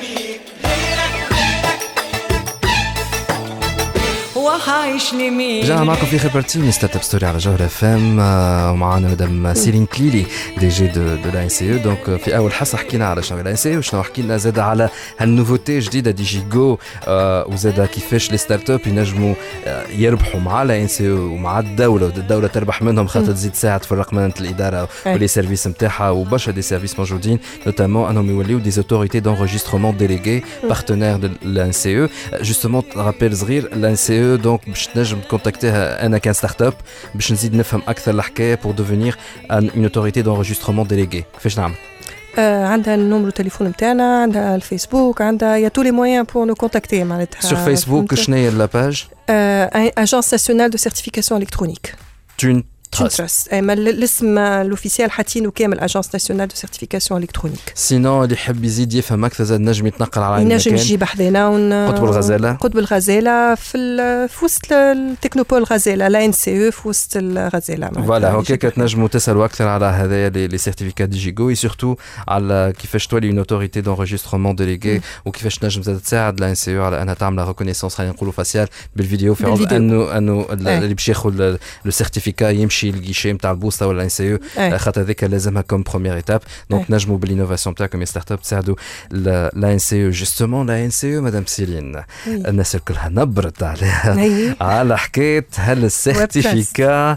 [SPEAKER 7] وحعيش لمين.
[SPEAKER 1] رجعنا معكم في خبرتين ستارت اب ستوري على جوهر اف ام، ومعنا مدام سيلين كليلي دي جي دو دو لا ان سي او. دونك في اول حصه حكينا على شنو لا ان سي او، وشنو حكينا زاد على هالنوفوتي جديده دي جي جو، وزاد كيفاش لي ستارت اب ينجموا يربحوا مع لا ان سي او ومع الدوله، والدوله تربح منهم خاطر تزيد تساعد في رقمنه الاداره ولي سيرفيس نتاعها، وبرشا دي سيرفيس موجودين نوتامون انهم يوليو دي اوتوريتي دونجسترمون ديليغي بارتنير دو لا ان سي او. جوستومون رابيل صغير لا ان سي او، دونك باش تنجم تكونتاكتيها انا كان ستارت اب باش نزيد نفهم اكثر الحكايه بور دوفينير ان اوتوريتي دونجسترمون ديليغي. كيفاش نعمل؟
[SPEAKER 8] آه عندها النمرو تليفون نتاعنا، عندها الفيسبوك، عندها يا تو لي مويان بور نو كونتاكتي معناتها.
[SPEAKER 1] سور فيسبوك شنو هي لا باج؟
[SPEAKER 8] اجونس ناسيونال دو سيرتيفيكاسيون الكترونيك تون تراست. اما الاسم الاوفيسيال حاطينه كامل اجونس ناسيونال دو سيرتيفيكاسيون الكترونيك.
[SPEAKER 1] سينو اللي يحب يزيد يفهم اكثر زاد نجم يتنقل على المكان،
[SPEAKER 8] ينجم يجي بحذنا ون...
[SPEAKER 1] قطب الغزاله
[SPEAKER 8] قطب الغزاله في ال... في وسط التكنوبول الغزاله لا ان سي او في وسط الغزاله.
[SPEAKER 1] فوالا هكاك تنجموا تسالوا اكثر على هذايا لي سيرتيفيكات دي جي جو، اي سورتو على كيفاش تولي اون اوتوريتي دونجسترمون ديليغي، وكيفاش تنجم زاد تساعد لا ان سي او على انها تعمل ريكونيسونس خلينا نقولوا فاسيال بالفيديو، في عوض انه انه اللي باش ياخذ لو سيرتيفيكا يمشي للجيشي نتاع البوسطه ولا ان سي او، خاطر هذيك لازمها كوم بروميير ايتاب. دونك نجموا بالانوفاسيون تاعكم يا ستارت اب تساعدوا لا ان سي او. جوستومون لا ان سي او مدام سيلين الناس كلها نبرت عليها على حكايه هل السيرتيفيكا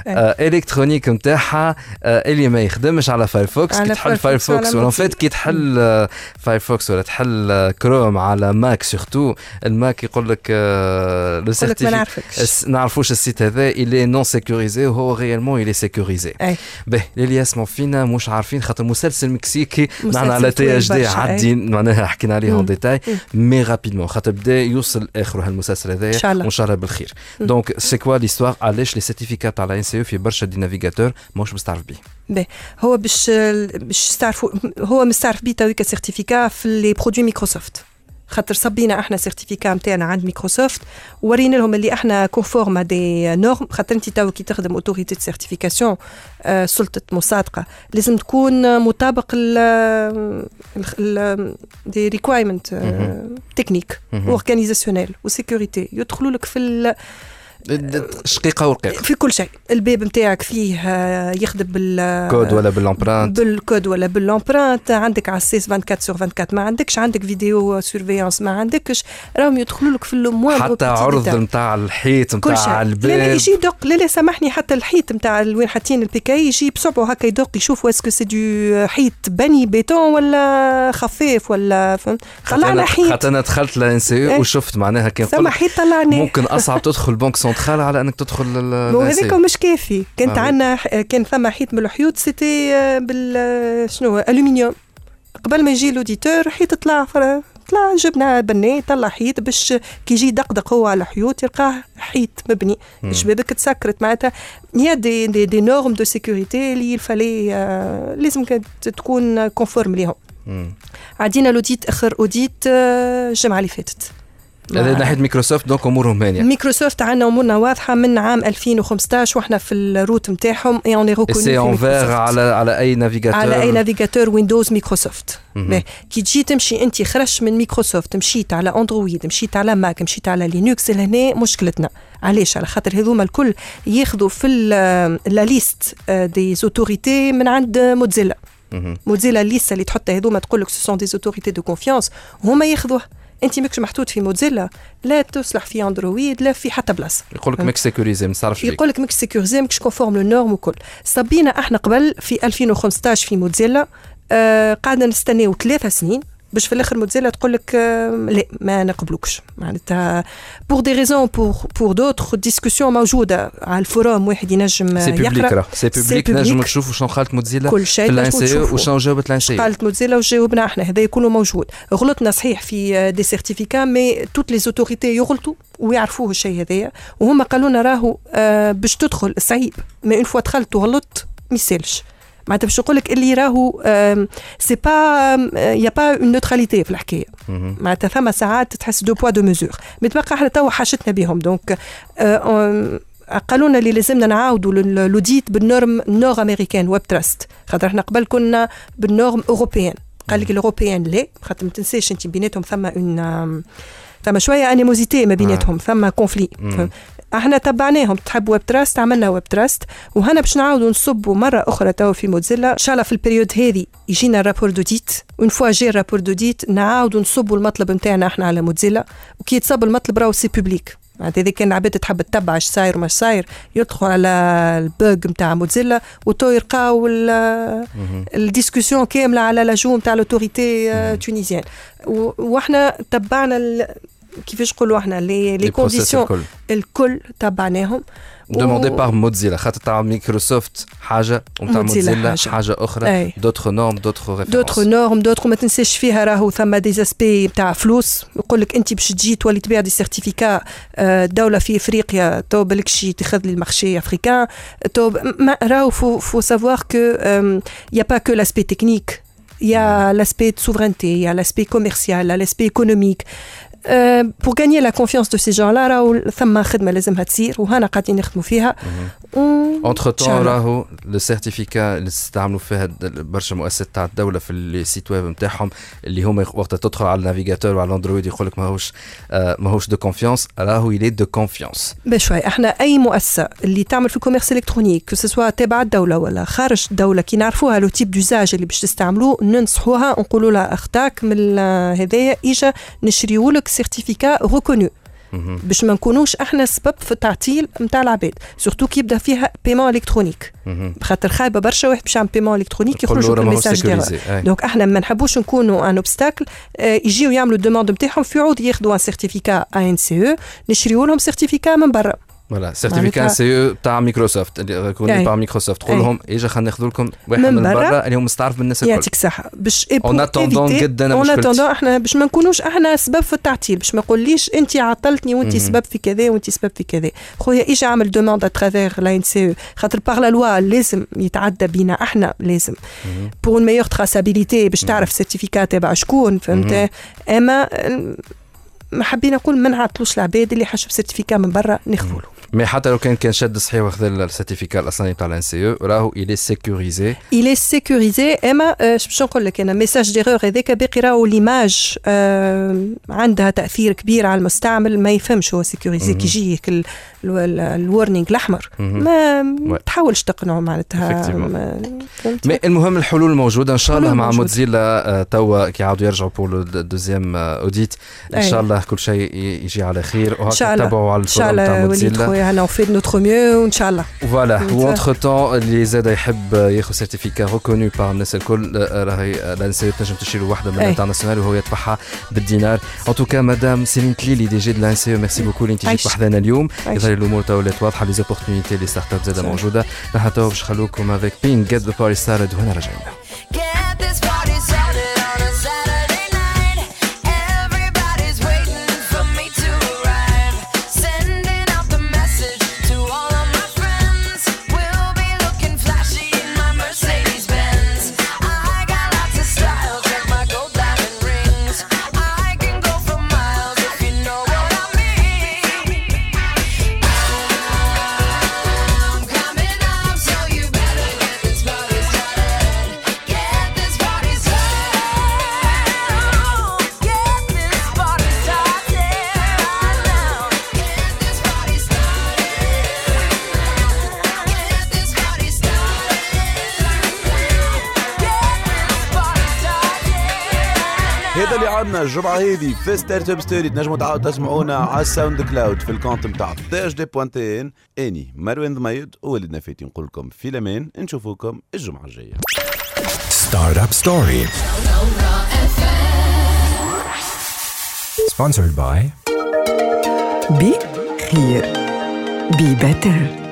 [SPEAKER 1] الكترونيك نتاعها اللي ما يخدمش على فايرفوكس، كي تحل فايرفوكس ولا فات كي تحل فايرفوكس ولا تحل كروم على ماك، سورتو الماك يقول لك لو سيرتيفيكا نعرفوش السيت هذا اللي نون سيكوريزي وهو ريالمون اللي سيكوريزي. به اللي يسمعوا فينا مش عارفين خاطر مسلسل مكسيكي معنا على تي اش دي عادين معناها حكينا عليه اون ديتاي مي رابيدمون خاطر بدا يوصل اخره هالمسلسل هذايا وان شاء الله بالخير. دونك سي كوا ليستوار علاش لي سيرتيفيكات تاع لا ان سي او في برشا دي نافيغاتور ماهوش مستعرف بيه؟
[SPEAKER 8] به هو باش باش تعرفوا هو مستعرف بيه تويكا سيرتيفيكا في لي برودوي مايكروسوفت، خاطر صبينا احنا سيرتيفيكا نتاعنا عند مايكروسوفت ورينا لهم اللي احنا كونفورم دي نورم، خاطر انت تو كي تخدم اوتوريتي دو سيرتيفيكاسيون آه سلطه مصادقه لازم تكون مطابق ال دي ريكوايرمنت تكنيك اورغانيزاسيونيل وسيكوريتي يدخلوا لك في
[SPEAKER 1] شقيقه ورقيقه في
[SPEAKER 8] كل شيء. الباب نتاعك فيه يخدم بالكود
[SPEAKER 1] ولا بالامبرانت،
[SPEAKER 8] بالكود ولا بالامبرانت، عندك على السيس أربعة وعشرين سور أربعة وعشرين، ما عندكش عندك فيديو سيرفيانس، ما عندكش راهم يدخلوا لك في الموان
[SPEAKER 1] حتى عرض نتاع الحيط نتاع الباب.
[SPEAKER 8] لا لا يجي يدق، لا لا سامحني، حتى الحيط نتاع وين حاطين البيكاي يجي بصبعه هكا يدق يشوف اسكو سي دو حيط بني بيتون ولا خفيف ولا فهمت. طلعنا حيط
[SPEAKER 1] حتى انا دخلت لان سي وشفت معناها كان
[SPEAKER 8] سامح حيط طلعنا
[SPEAKER 1] ممكن اصعب تدخل بنك سنترال على انك تدخل
[SPEAKER 8] وهذاك مش كافي. كانت آه عندنا كان ثم حيط من الحيوط سيتي بال شنو الومنيوم، قبل ما يجي لوديتور حيط طلع طلع جبنا بني طلع حيط باش كي يجي دقدق هو على الحيوط يلقاه حيط مبني شبابك تسكرت معناتها. يا دي دي, دي نورم دو سيكوريتي اللي الفالي آه لازم تكون كونفورم ليهم. عدينا لوديت اخر اوديت آه الجمعه اللي فاتت
[SPEAKER 1] هذا ناحيه مايكروسوفت. دونك امورهم هانيه.
[SPEAKER 8] مايكروسوفت عندنا امورنا واضحه من عام ألفين وخمسطاش واحنا في الروت نتاعهم اي اون ريكوني
[SPEAKER 1] سي اونفير على على اي نافيغاتور
[SPEAKER 8] على اي نافيغاتور ويندوز مايكروسوفت. كي تجي تمشي انت خرجت من مايكروسوفت مشيت على اندرويد مشيت على ماك مشيت على لينكس، لهنا مشكلتنا علاش؟ على خاطر هذوما الكل ياخذوا في لا ليست دي اوتوريتي من عند موزيلا. موزيلا الليسته اللي تحطها هذوما تقول لك سو سون دي اوتوريتي دو كونفيونس هما ياخذوها. انت ماكش محطوط في موزيلا لا تصلح في اندرويد لا في حتى بلاصه.
[SPEAKER 1] يقول لك ماكش سيكوريزي ما صارش فيك،
[SPEAKER 8] يقول لك ماكش سيكوريزي ماكش كونفورم لو نورم وكل. صبينا احنا قبل في ألفين وخمسطاش في موزيلا آه قعدنا نستناو ثلاثة سنين باش في الاخر موتزيلا تقول لك لا ما نقبلوكش معناتها بور دي ريزون بور بور دوتر ديسكوسيون موجوده على الفوروم واحد ينجم
[SPEAKER 1] يقرا سي بوبليك نجم نشوفوا شنو قالت موتزيلا في الان سي او وشنو جاوبت الان سي او
[SPEAKER 8] قالت موتزيلا وجاوبنا احنا هذا كله موجود غلطنا صحيح في دي سيرتيفيكا مي توت لي اوتوريتي يغلطوا ويعرفوه الشيء هذايا وهم قالوا لنا راهو آه باش تدخل صعيب ما اون فوا دخلت وغلطت ما يسالش معناتها باش نقول لك اللي راهو سي با يا با اون نوتراليتي في الحكايه معناتها ثم ساعات تحس دو بوا دو ميزور متبقى احنا توا حاشتنا بهم دونك قالوا لنا اللي لازمنا نعاودوا لوديت بالنورم نور امريكان ويب تراست خاطر احنا قبل كنا بالنورم اوروبيان قال لك الاوروبيان لا خاطر ما تنساش انت بيناتهم ثم اون ثم شويه انيموزيتي ما بيناتهم ثم كونفلي احنا تبعناهم تحب ويب تراست عملنا ويب تراست وهنا باش نعاودوا نصبوا مره اخرى تو في موتزيلا ان شاء الله في البريود هذه يجينا الرابور دوديت اون فوا جي الرابور دوديت نعاودوا نصبوا المطلب نتاعنا احنا على موتزيلا وكي يتصب المطلب راهو سي بوبليك معناتها اذا كان العباد تحب تتبع اش صاير وما صاير يدخلوا على البوغ نتاع موتزيلا وتو يلقاو الديسكوسيون كامله على لاجو نتاع لوتوريتي تونيزيان واحنا تبعنا كيفاش نقولوا احنا لي لي كونديسيون الكل تبعناهم
[SPEAKER 1] demandé par Mozilla خاطر تاع مايكروسوفت حاجه وتاع موتزيلا حاجه اخرى دوتر نورم دوتر ريفيرونس
[SPEAKER 8] دوتر نورم دوتر ما تنساش فيها راهو ثم دي زاسبي تاع فلوس يقول لك انت باش تجي تولي تبيع دي سيرتيفيكا دوله في افريقيا تو بالكشي تاخذ لي المارشي افريكان تو راهو فو فو سافوار كو يا با كو لاسبي تكنيك يا لاسبي de souveraineté يا لاسبي كوميرسيال لاسبي ايكونوميك Euh, pour gagner la confiance de ces gens-là, راهو ثم خدمة لازمها تصير وهنا قاعدين نخدموا فيها.
[SPEAKER 1] Entre temps راهو السيرتيفيكا اللي استعملوا فيها برشا مؤسسات تاع الدولة في السيت ويب نتاعهم اللي هما وقت تدخل على النافيغاتور وعلى الاندرويد يقول لك ماهوش آه ماهوش دو كونفيونس راهو يلي دو كونفيونس.
[SPEAKER 8] بشوي احنا اي مؤسسة اللي تعمل في الكوميرس الكترونيك كو سوا تبع الدولة ولا خارج الدولة كي نعرفوها لو تيب دوزاج اللي باش تستعملوه ننصحوها نقولوا لها اختاك من هذايا اجا نشريوا لك سيرتيفيكا ريكونو باش ما نكونوش احنا سبب في التعطيل نتاع العباد سورتو كي يبدا فيها بيمون الكترونيك خاطر خايبه برشا واحد باش يعمل بيمون الكترونيك يخرجوا بالميساج ديالها دونك احنا ما نحبوش نكونوا ان اوبستاكل يجيو يعملوا الدوموند نتاعهم في عود ياخذوا ان سيرتيفيكا ان سي او نشريوا لهم سيرتيفيكا من برا
[SPEAKER 1] فوالا سيرتيفيكا سي او تاع مايكروسوفت اللي ريكوني باغ مايكروسوفت تقول لهم اجا خلينا ناخذ لكم واحد من برا اللي هو مستعرف بالناس الكل
[SPEAKER 8] يعطيك الصحه باش
[SPEAKER 1] اون اتوندون جدا
[SPEAKER 8] اون اتوندون احنا باش ما نكونوش احنا سبب في التعطيل باش ما نقوليش انت عطلتني وانت سبب في كذا وانت سبب في كذا خويا اجا عمل دوموند اترافير لا ان سي او خاطر باغ لا لوا لازم يتعدى بينا احنا لازم بور اون ميور تراسابيليتي باش تعرف سيرتيفيكات تبع شكون فهمت اما ما حبينا نقول ما نعطلوش العباد اللي حاشوا سيرتيفيكا من برا ناخذوا له
[SPEAKER 1] مي حتى لو كان كان شاد صحيح واخذ السيرتيفيكا الاصلي تاع الان سي او راهو الي سيكوريزي
[SPEAKER 8] الي سيكوريزي اما باش نقول لك انا ميساج ديغور هذاك باقي راهو ليماج عندها تاثير كبير على المستعمل ما يفهمش هو سيكوريزي كي يجي الورنينغ الاحمر ما تحاولش تقنعه معناتها
[SPEAKER 1] مي المهم الحلول موجوده ان شاء الله مع موتزيلا توا كي يعاودوا يرجعوا بور دوزيام اوديت ان شاء الله كل شيء يجي على خير وهكا تابعوا على الفورم تاع موتزيلا
[SPEAKER 8] انا وفي de notre mieux وان شاء الله
[SPEAKER 1] فوالا وانتر طون اللي زاد يحب ياخذ سيرتيفيكا ريكونو بار الناس الكل راهي لانسيو تنجم تشري وحده من الانترناسيونال وهو يدفعها بالدينار ان توكا مدام سيلين تليلي دي جي دو لانسيو ميرسي بوكو اللي انت جيت وحدنا اليوم يظهر الامور تو ولات واضحه لي زوبورتونيتي لي ستارت اب زاده موجوده نحن تو باش نخلوكم افيك بين جيت ذا باري ستارت وهنا رجعنا الجمعة هذه في ستارت اب ستوري تنجموا تعاودوا تسمعونا على الساوند كلاود في الكونت نتاع تي اش دي بوان تي ان اني مروان ضميد وولدنا فاتي نقول لكم في الامان نشوفوكم الجمعة الجاية. ستارت اب ستوري.
[SPEAKER 2] Sponsored by
[SPEAKER 3] بي خير بي بيتر.